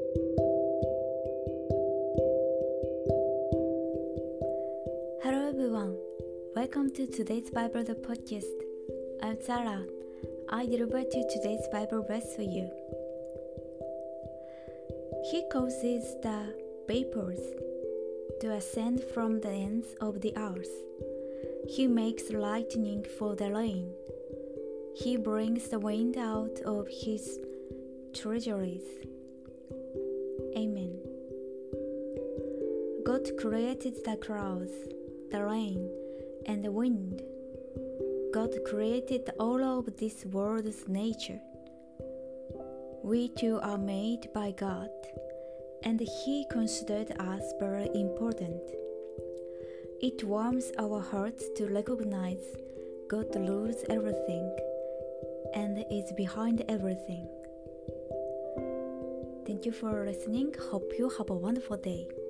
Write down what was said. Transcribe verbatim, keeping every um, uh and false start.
Hello everyone, welcome to today's Bible podcast. I'm Sarah. I deliver to today's Bible verse for you. He causes the vapors to ascend from the ends of the earth. He makes lightning for the rain. He brings the wind out of his treasuries. Amen. God created the clouds, the rain, and the wind. God created all of this world's nature. We too are made by God, and He considered us very important. It warms our hearts to recognize God rules everything and is behind everything. Thank you for listening. Hope you have a wonderful day.